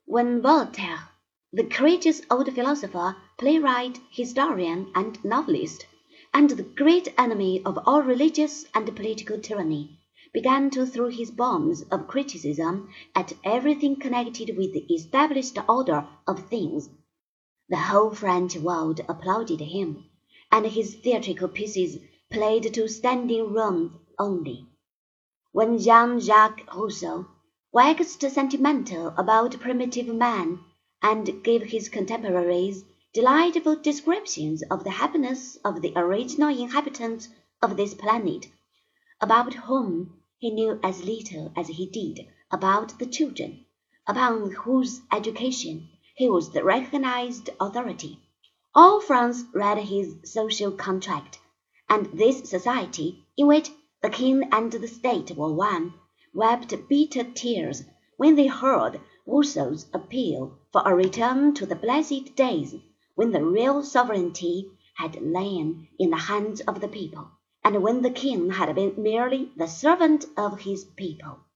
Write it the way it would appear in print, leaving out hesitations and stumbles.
When Voltaire, the courageous old philosopher, playwright, historian, and novelist, and the great enemy of all religious and political tyranny, began to throw his bombs of criticism at everything connected with the established order of things, the whole French world applauded him, and his theatrical pieces played to standing room only. When Jean-Jacques Rousseau waxed sentimental about primitive man, and gave his contemporaries delightful descriptions of the happiness of the original inhabitants of this planet, about whom he knew as little as he did about the children, upon whose education he was the recognized authority. All France read his social contract, and this society, in which the king and the state were one, wept bitter tears when they heard Rousseau's appeal for a return to the blessed days when the real sovereignty had lain in the hands of the people, and when the king had been merely the servant of his people.